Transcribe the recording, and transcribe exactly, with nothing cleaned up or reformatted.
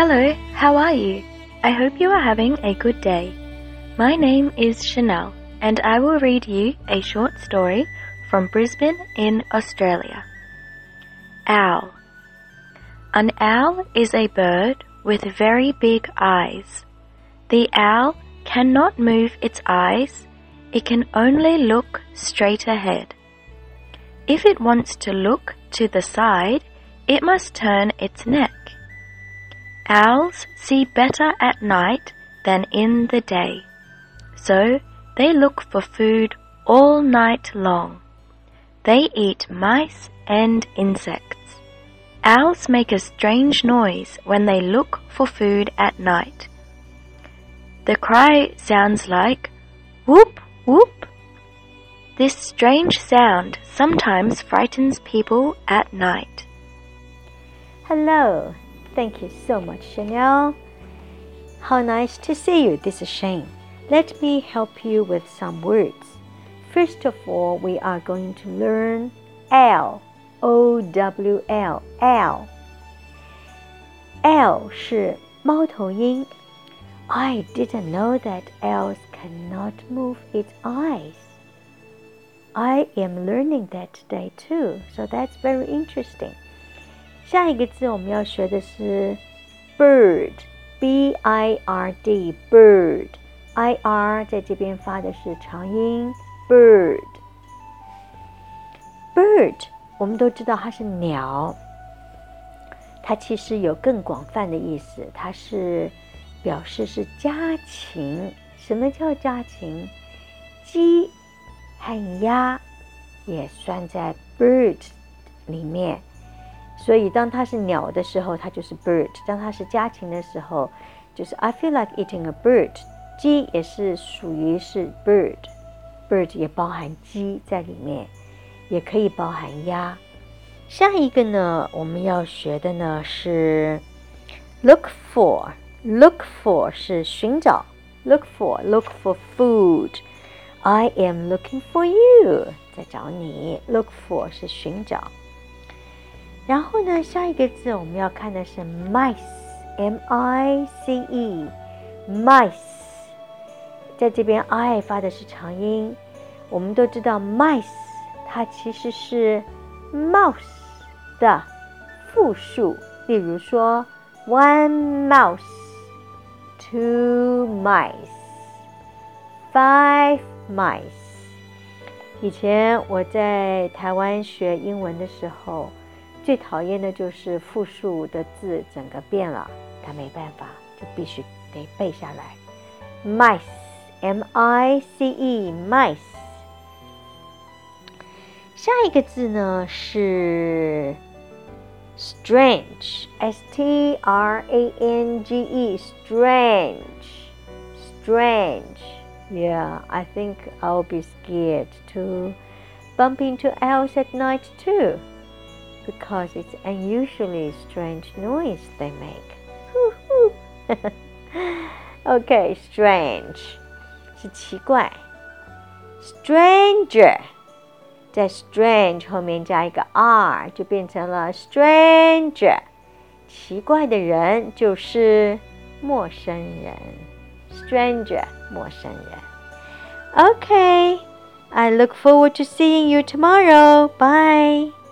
Hello, how are you? I hope you are having a good day. My name is Chanel, and I will read you a short story from Brisbane in Australia. Owl. An owl is a bird with very big eyes. The owl cannot move its eyes. It can only look straight ahead. If it wants to look to the side, it must turn its neck. Owls see better at night than in the day, so they look for food all night long. They eat mice and insects. Owls make a strange noise when they look for food at night. The cry sounds like whoop whoop. This strange sound sometimes frightens people at night. Hello, thank you so much, Chanel. How nice to see you. This is Shane. Let me help you with some words. First of all, we are going to learn L, O W L, L. L 是猫头鹰。I didn't know that owls cannot move its eyes. I am learning that today too, so that's very interesting. 下一个字我们要学的是 bird, B I R D, bird. I R 在这边发的是长音 bird. Bird 我们都知道它是鸟，它其实有更广泛的意思，它是表示是家禽。什么叫家禽？鸡和鸭也算在 bird 里面，所以当它是鸟的时候，它就是 bird； 当它是家禽的时候，就是 I feel like eating a bird。鸡也是属于是 bird，bird 也包含鸡在里面，也可以包含鸭。下一个呢，我们要学的呢是 look for。Look for 是寻找 ，look for look for food。I am looking for you， 在找你。Look for 是寻找。然后呢，下一个字我们要看的是 mice，M I C E，mice， 在这边 I 发的是长音。我们都知道 mice 它其实是 mouse 的复数，例如说 one mouse。Two mice, five mice. 以前我在台湾学英文的时候，最讨厌的就是复数的字整个变了，但没办法，就必须得背下来。Mice, M I C E, mice. 下一个字呢是Strange, S T R A N G E, strange, strange. Yeah, I think I'll be scared to bump into owls at night too, because it's unusually strange noise they make. Okay, strange 是奇怪 Stranger在 strange 后面加一个 r 就变成了 stranger， 奇怪的人就是陌生人 stranger 陌生人。 Okay, I look forward to seeing you tomorrow. Bye.